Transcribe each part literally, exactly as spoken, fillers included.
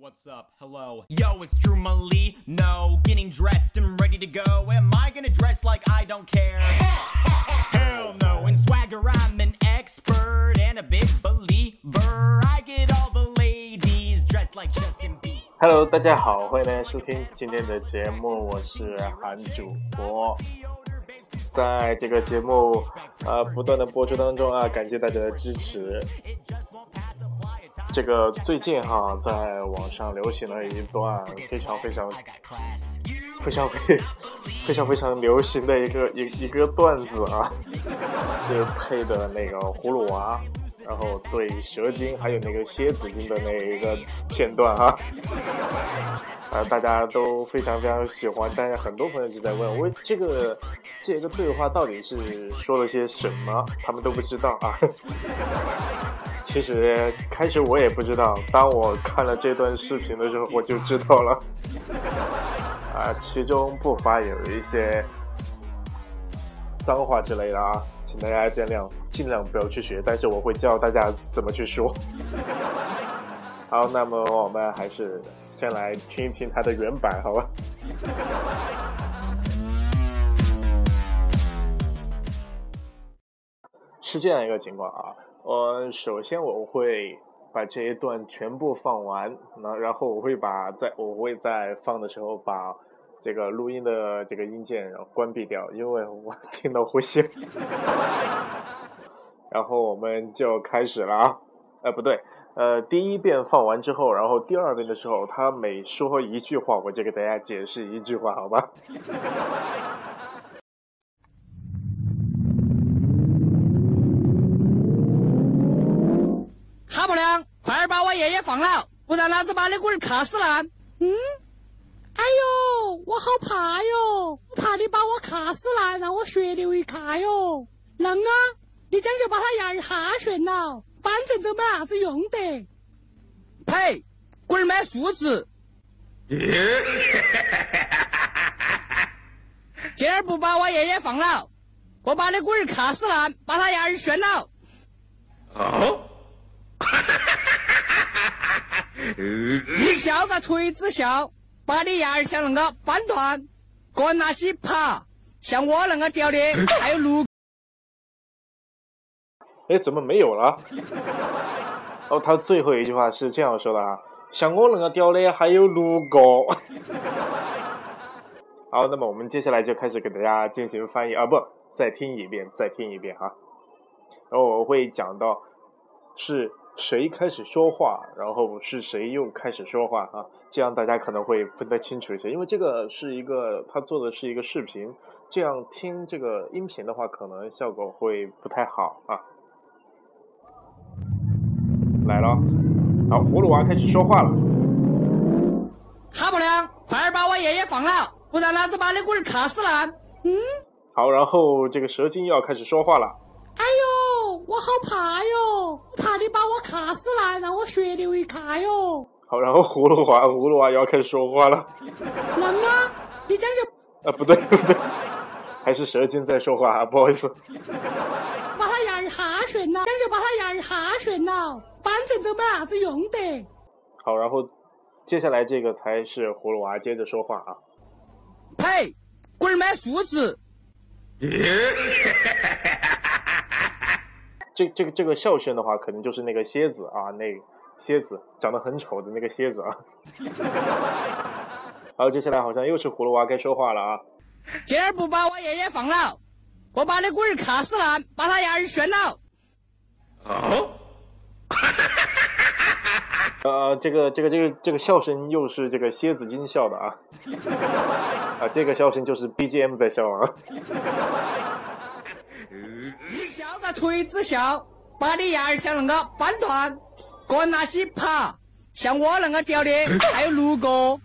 What's up? Hello. Yo, it's Drew Malee. No, getting dressed and ready to go. Am I gonna dress like I don't care? Hell no. In swagger, I'm an expert and a big believer. I get all the ladies dressed like Justin Bieber. Hello， 大家好，欢迎大家收听今天的节目，我是韩主播。在这个节目呃不断的播出当中啊，感谢大家的支持。这个最近哈，在网上流行了一段非常非常非常非非常非常流行的一个一一个段子啊，就是配的那个葫芦娃，然后对蛇精还有那个蝎子精的那一个片段啊，呃，大家都非常非常喜欢，但是很多朋友就在问，我这个这个对话到底是说了些什么，他们都不知道啊。其实开始我也不知道，当我看了这段视频的时候我就知道了啊，其中不乏有一些脏话之类的啊，请大家见谅，尽量不要去学，但是我会教大家怎么去说。好，那么我们还是先来听一听它的原版好吧。是这样一个情况啊，呃，首先我会把这一段全部放完，那然后我会把在我会在放的时候把这个录音的这个音键然后关闭掉，因为我听到呼吸。然后我们就开始了啊，呃不对，呃第一遍放完之后，然后第二遍的时候，他每说一句话，我就给大家解释一句话，好吧？ 哈不良，快点把我爷爷放了，不然老子把你龟儿卡死烂。 嗯，哎呦，我好怕哟，我怕你把我卡死烂，让我血流一卡哟。能啊，你这样就把他牙儿哈旋了，反正都没啥子用的。 呸，龟儿没素质。今儿不把我爷爷放了，我把你龟儿卡死烂，把他牙儿旋了。 哦。 你笑个锤子笑，把你牙儿像那个扳断，跟那些爬像我那个屌的还有路。 哎，怎么没有了？哦，他最后一句话是这样说的啊，像我那个屌的还有卢哥。好，那么我们接下来就开始给大家进行翻译啊，不，再听一遍，再听一遍哈。然后我会讲到是谁开始说话，然后是谁又开始说话啊？这样大家可能会分得清楚一些，因为这个是一个他做的是一个视频，这样听这个音频的话，可能效果会不太好啊。来了，好，葫芦娃开始说话了。 哈不良，快点把我爷爷放了，不然老子把你龟儿卡死烂。 嗯， 好，然后这个蛇精又要开始说话了。 哎呦，我好怕哟，我怕你把我卡死烂，让我血流一卡哟。 好，然后葫芦娃，葫芦娃又要开始说话了。 能啊，你这样啊， 就不对不对，还是蛇精在说话啊，不好意思。 把他牙儿哈旋了，这样就把他牙儿哈旋了，反正都没啥子用的。 好，然后接下来这个才是葫芦娃接着说话啊。 呸，龟儿没素质。 这这个这个笑声的话，可能就是那个蝎子啊，那个蝎子长得很丑的那个蝎子啊。好，接下来好像又是葫芦娃该说话了啊。 今儿不把我爷爷放了，我把你龟儿卡死烂，把他牙儿旋了。 哦。 呃，这个这个这个这个笑声又是这个蝎子精笑的啊。啊，这个笑声就是 B G M 在笑啊。 你笑个锤子笑，把你牙儿像那个扳断，跟那些爬像我那个屌的还有路哥。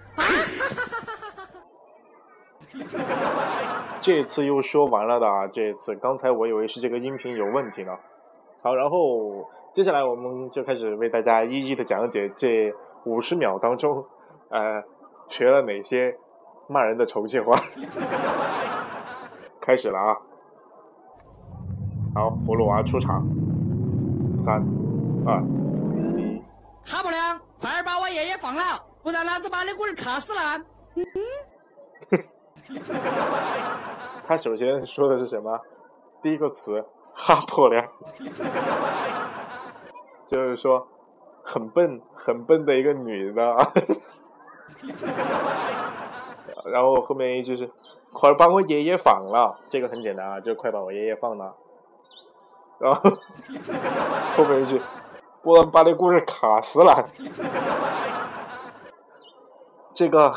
这次又说完了的啊，这次刚才我以为是这个音频有问题呢。好，然后接下来我们就开始为大家一一的讲解这五十秒当中，呃，学了哪些骂人的重庆话。开始了啊！好，葫芦娃出场，三、二、一。 哈不良，快点把我爷爷放放了，不然老子把你龟儿卡死烂。嗯。 他首先说的是什么？第一个词哈破亮，就是说很笨很笨的一个女的啊。然后后面一句是快把我爷爷放了，这个很简单啊，就快把我爷爷放了。然后后面一句不然把你龟儿卡死了。这个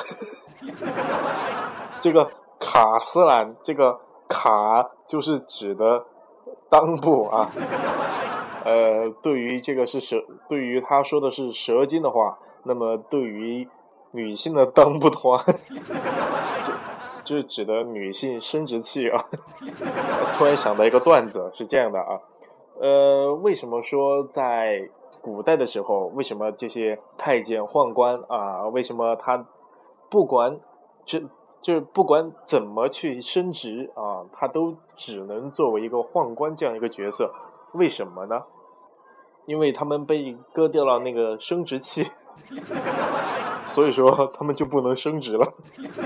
这个卡斯兰，这个卡就是指的裆部啊。呃，对于这个是蛇，对于他说的是蛇精的话，那么对于女性的裆部的话，就就是指的女性生殖器啊。突然想到一个段子是这样的啊，呃，为什么说在古代的时候，为什么这些太监宦官啊，为什么他不管这就是不管怎么去升职啊，他都只能作为一个宦官这样一个角色？为什么呢？因为他们被割掉了那个生殖器，所以说他们就不能升职了。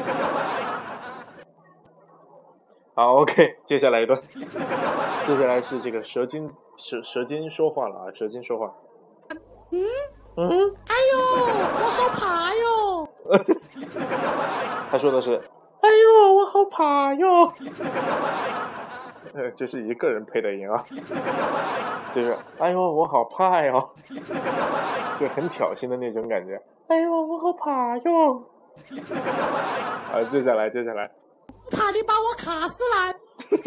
好 ，OK， 接下来一段，接下来是这个蛇精蛇蛇精说话了啊，蛇精说话。 嗯嗯， 哎呦，我好怕哟。 他说的是，哎呦，我好怕哟。呃，这是一个人配的音啊，就是哎呦，我好怕哟，就很挑衅的那种感觉。哎呦，我好怕哟。好，接下来，接下来。 怕你把我卡死烂。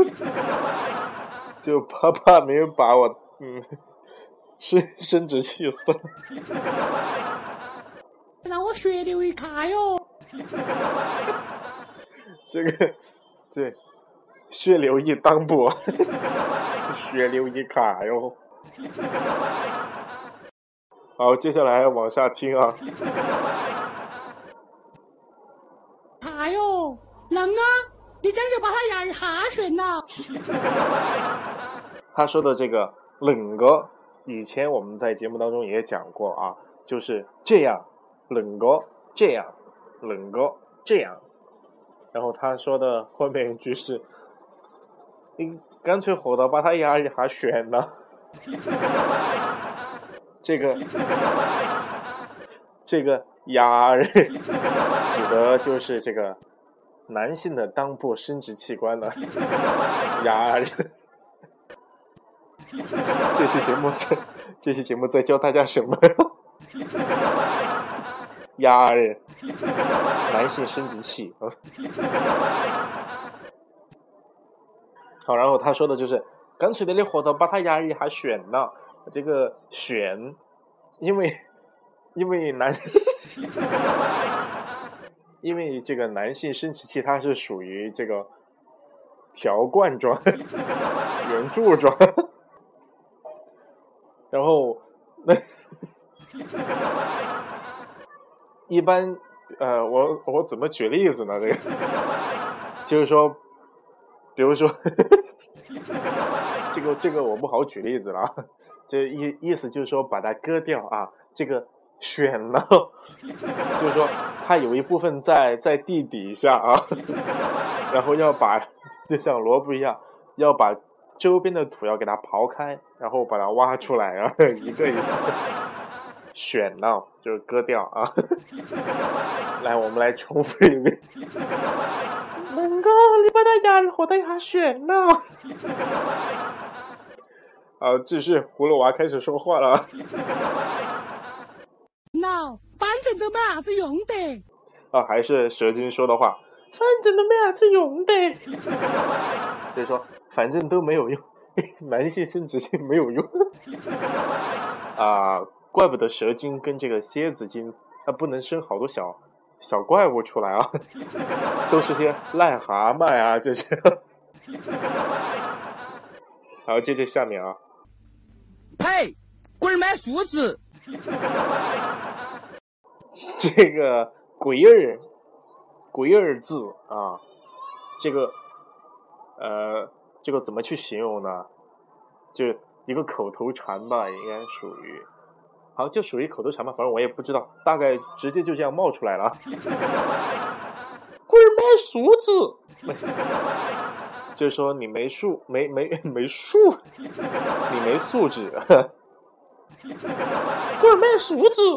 就怕怕没有把我嗯生生殖器死了。 让我血流一卡哟。 这个对，血流一裆部，血流一卡哟。好，接下来往下听啊。 卡哟，能啊，你这样就把他牙儿哈旋了。 他说的这个冷个，以前我们在节目当中也讲过啊，就是这样，冷个这样，冷个这样。然后他说的后面一句是，你干脆活到把他牙一下旋了。这个这个牙儿指的就是这个男性的裆部生殖器官了。牙儿。这期节目在这期节目在教大家什么？牙儿，男性生殖器。好，然后他说的就是干脆的你活到把他牙一下旋了。这个旋，因为因为男因为这个男性生殖器它是属于这个条冠状、圆柱状。然后那一般呃，我我怎么举例子呢？这个就是说，比如说这个这个我不好举例子了啊。这意意思就是说把它割掉啊，这个选了，就是说它有一部分在在地底下啊，然后要把就像萝卜一样，要把周边的土要给它刨开，然后把它挖出来啊，一个意思。选了就是割掉啊。来，我们来重复一遍。能够你把它压活的下选了。好，继续，葫芦娃开始说话了。 那反正都没啥子用的。 啊，还是蛇精说的话，反正都没啥子用的。就是说，反正都没有用，男性生殖器没有用。啊，怪不得蛇精跟这个蝎子精，它不能生好多小小怪物出来啊，都是些癞蛤蟆啊这些。好，接着下面啊。 呸！龟儿买树枝。 这个鬼儿，鬼儿字啊，这个呃，这个怎么去形容呢？就一个口头禅吧，应该属于好，就属于口头禅嘛，反正我也不知道，大概直接就这样冒出来了。龟儿没素质，就是说你没素没没没素，你没素质，龟儿没素质。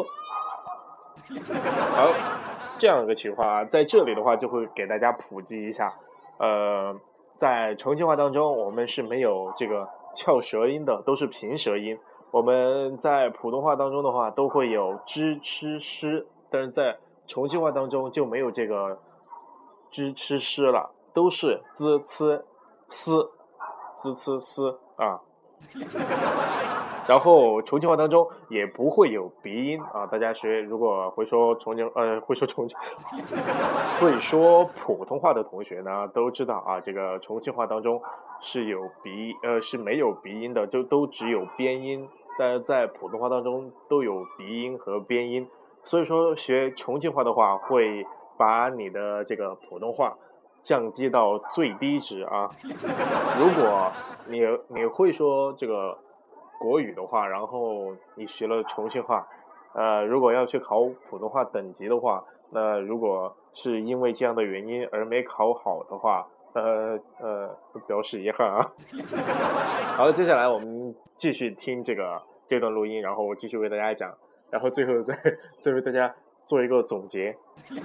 好，这样一个情况啊，在这里的话就会给大家普及一下，呃，在重庆话当中，我们是没有这个翘舌音的，都是平舌音。我们在普通话当中的话都会有支吃诗，但是在重庆话当中就没有这个支吃诗了，都是滋呲丝滋呲丝啊。然后重庆话当中也不会有鼻音啊，大家学如果会说重庆呃会说重庆会说普通话的同学呢都知道啊，这个重庆话当中是有鼻呃是没有鼻音的，都都只有边音，但是在普通话当中都有鼻音和边音，所以说学重庆话的话会把你的这个普通话降低到最低值啊。如果你你会说这个国语的话，然后你学了重庆话，呃，如果要去考普通话等级的话，那如果是因为这样的原因而没考好的话，呃呃，表示遗憾啊。好了，接下来我们继续听这个这段录音，然后我继续为大家讲，然后最后再再为大家做一个总结。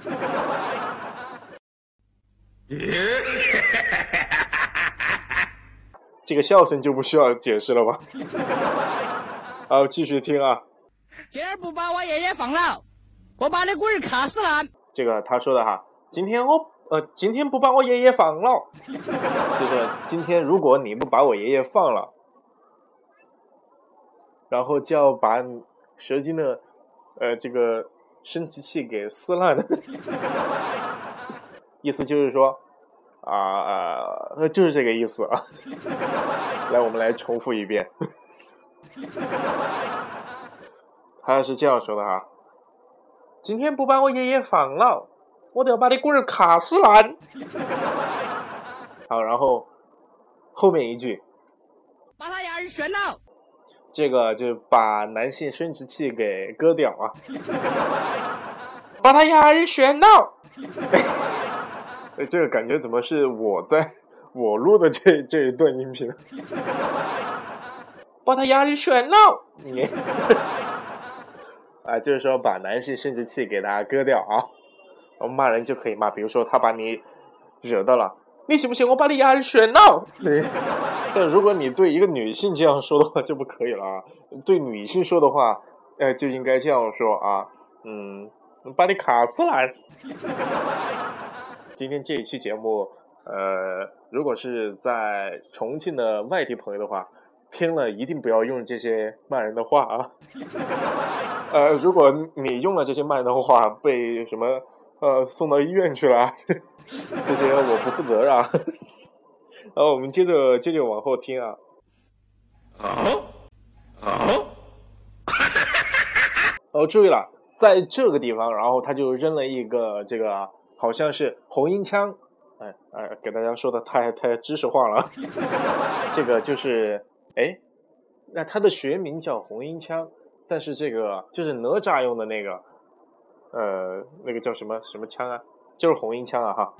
这个笑声就不需要解释了吧？好，继续听啊。 今儿不把我爷爷放了，我把你龟儿卡死烂。 这个他说的哈，今天我呃，今天不把我爷爷放了，就是今天如果你不把我爷爷放了，然后就要把蛇精的呃这个生殖器给撕烂的，意思就是说。啊啊、呃，就是这个意思啊！来，我们来重复一遍。他是这样说的哈：今天不把我爷爷放了，我都要把你龟儿卡死烂。好，然后后面一句， 把他牙儿选了。 这个就把男性生殖器给割掉啊！把他牙儿选了。这个感觉怎么是我在我录的这这一段音频？把他牙里选了，你啊，就是说把男性生殖器给他割掉啊。我们骂人就可以骂，比如说他把你惹到了，你信不信我把你牙里选了？但如果你对一个女性这样说的话就不可以了啊。对女性说的话，呃，就应该这样说啊，嗯，把你卡死烂。今天这一期节目，呃，如果是在重庆的外地朋友的话，听了一定不要用这些骂人的话啊。呃，如果你用了这些骂人的话，被什么呃送到医院去了，这些我不负责啊。然后我们接着接着往后听啊。 哦哦， 哦，注意了，在这个地方，然后他就扔了一个这个。好像是红缨枪，哎哎，给大家说的太太知识化了。这个就是，哎，那它的学名叫红缨枪，但是这个就是哪吒用的那个，呃，那个叫什么什么枪啊？就是红缨枪啊哈。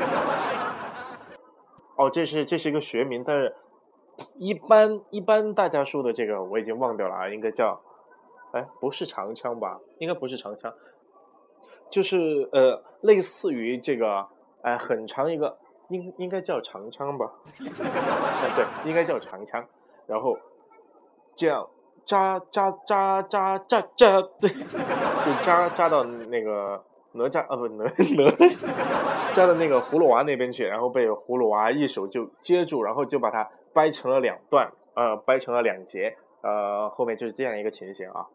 哦，这是这是一个学名，但是一般一般大家说的这个我已经忘掉了啊，应该叫，哎，不是长枪吧？应该不是长枪。就是呃，类似于这个，哎、呃，很长一个，应应该叫长枪吧？啊，对，应该叫长枪。然后这样扎扎扎扎扎扎，对，就扎扎到那个哪吒啊，不哪哪扎到那个葫芦娃那边去，然后被葫芦娃一手就接住，然后就把它掰成了两段，呃，掰成了两截，呃，后面就是这样一个情形啊。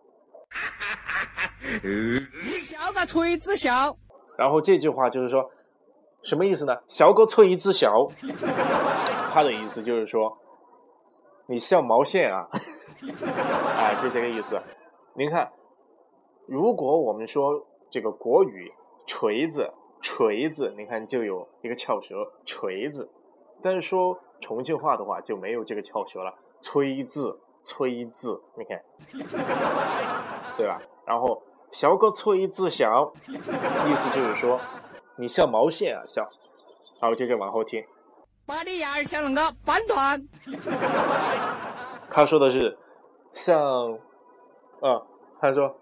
你笑个锤子笑。 然后这句话就是说什么意思呢？笑个锤子笑，他的意思就是说你笑毛线啊。啊，就这个意思。您看，如果我们说这个国语锤子锤子，你看就有一个翘舌锤子，但是说重庆话的话就没有这个翘舌了，吹字吹字，你看。 对吧？然后小个锤子笑，意思就是说你笑毛线啊笑。好，接着往后听。 把你牙儿像那个扳断。 他说的是像，呃，他说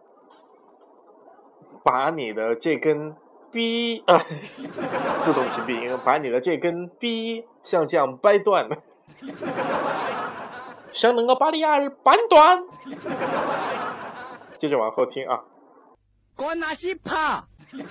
把你的这根逼啊，自动屏蔽，把你的这根逼像这样掰断，像那个把你牙儿扳断。接着往后听啊。 滚那些爬。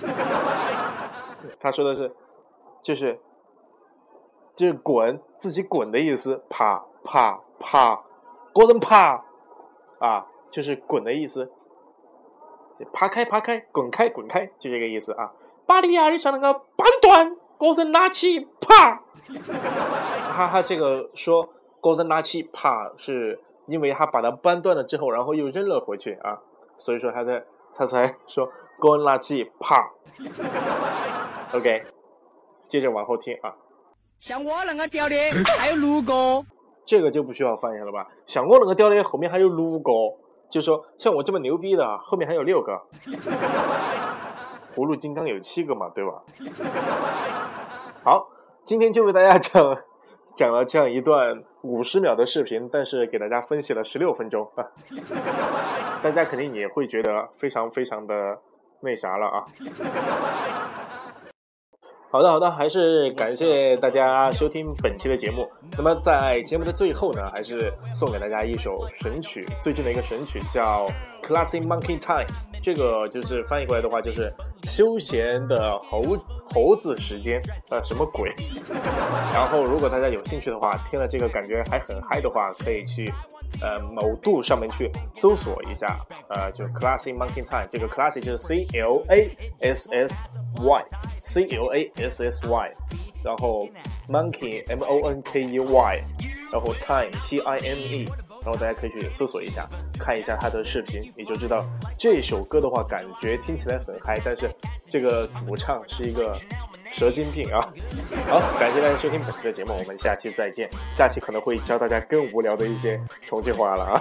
他说的是，就是就是滚，自己滚的意思，爬爬爬，个人爬啊，就是滚的意思，爬开爬开，滚开滚开，就这个意思啊。把你牙儿像那个扳断，个人拿起爬。哈哈，这个说个人拿起爬，是因为他把它扳断了之后，然后又扔了回去啊，所以说他在他才说个人拿起爬。OK， 接着往后听啊。 像我那个屌的还有六个， 这个就不需要翻译了吧？像我那个屌的后面还有六个，就说像我这么牛逼的后面还有六个。葫芦金刚有七个嘛，对吧？好，今天就为大家讲讲了这样一段五十秒的视频，但是给大家分析了十六分钟啊，大家肯定也会觉得非常非常的那啥了啊。好的好的，还是感谢大家收听本期的节目。那么在节目的最后呢，还是送给大家一首神曲，最近的一个神曲叫 Classic Monkey Time， 这个就是翻译过来的话就是休闲的猴猴子时间，呃，什么鬼？然后如果大家有兴趣的话，听了这个感觉还很嗨的话，可以去呃某度上面去搜索一下，呃，就 Classic Monkey Time， 这个 Classic 就是 C L A S S Y C L A S S Y， 然后 Monkey M O N K E Y， 然后 Time T I M E， 然后大家可以去搜索一下，看一下他的视频，你就知道这首歌的话，感觉听起来很嗨，但是这个主唱是一个蛇精病啊！好，感谢大家收听本期的节目，我们下期再见。下期可能会教大家更无聊的一些重庆话了啊！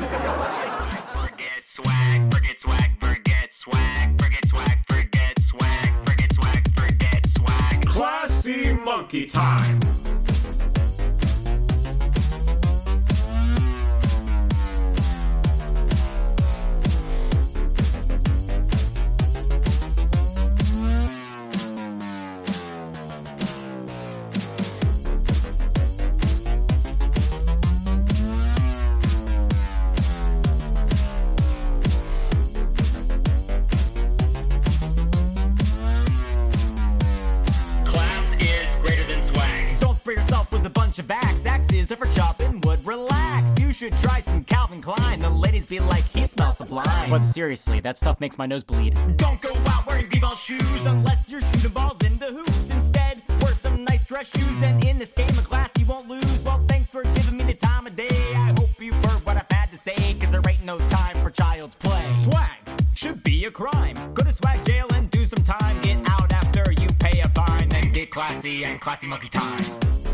Classy Monkey Time. Ever chopping wood, relax. You should try some Calvin Klein. The ladies be like, he smells sublime. But seriously, that stuff makes my nose bleed. Don't go out wearing b-ball shoes unless you're shooting balls into hoops. Instead, wear some nice dress shoes, and in this game of class you won't lose. Well, thanks for giving me the time of day. I hope you've heard what I've had to say, cause there ain't no time for child's play. Swag should be a crime. Go to swag jail and do some time. Get out after you pay a fine, then get classy and classy monkey time.